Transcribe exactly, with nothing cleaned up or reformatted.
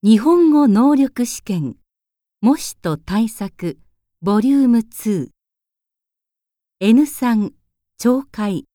日本語能力試験模試と対策ボリュームツー エヌスリー 懲戒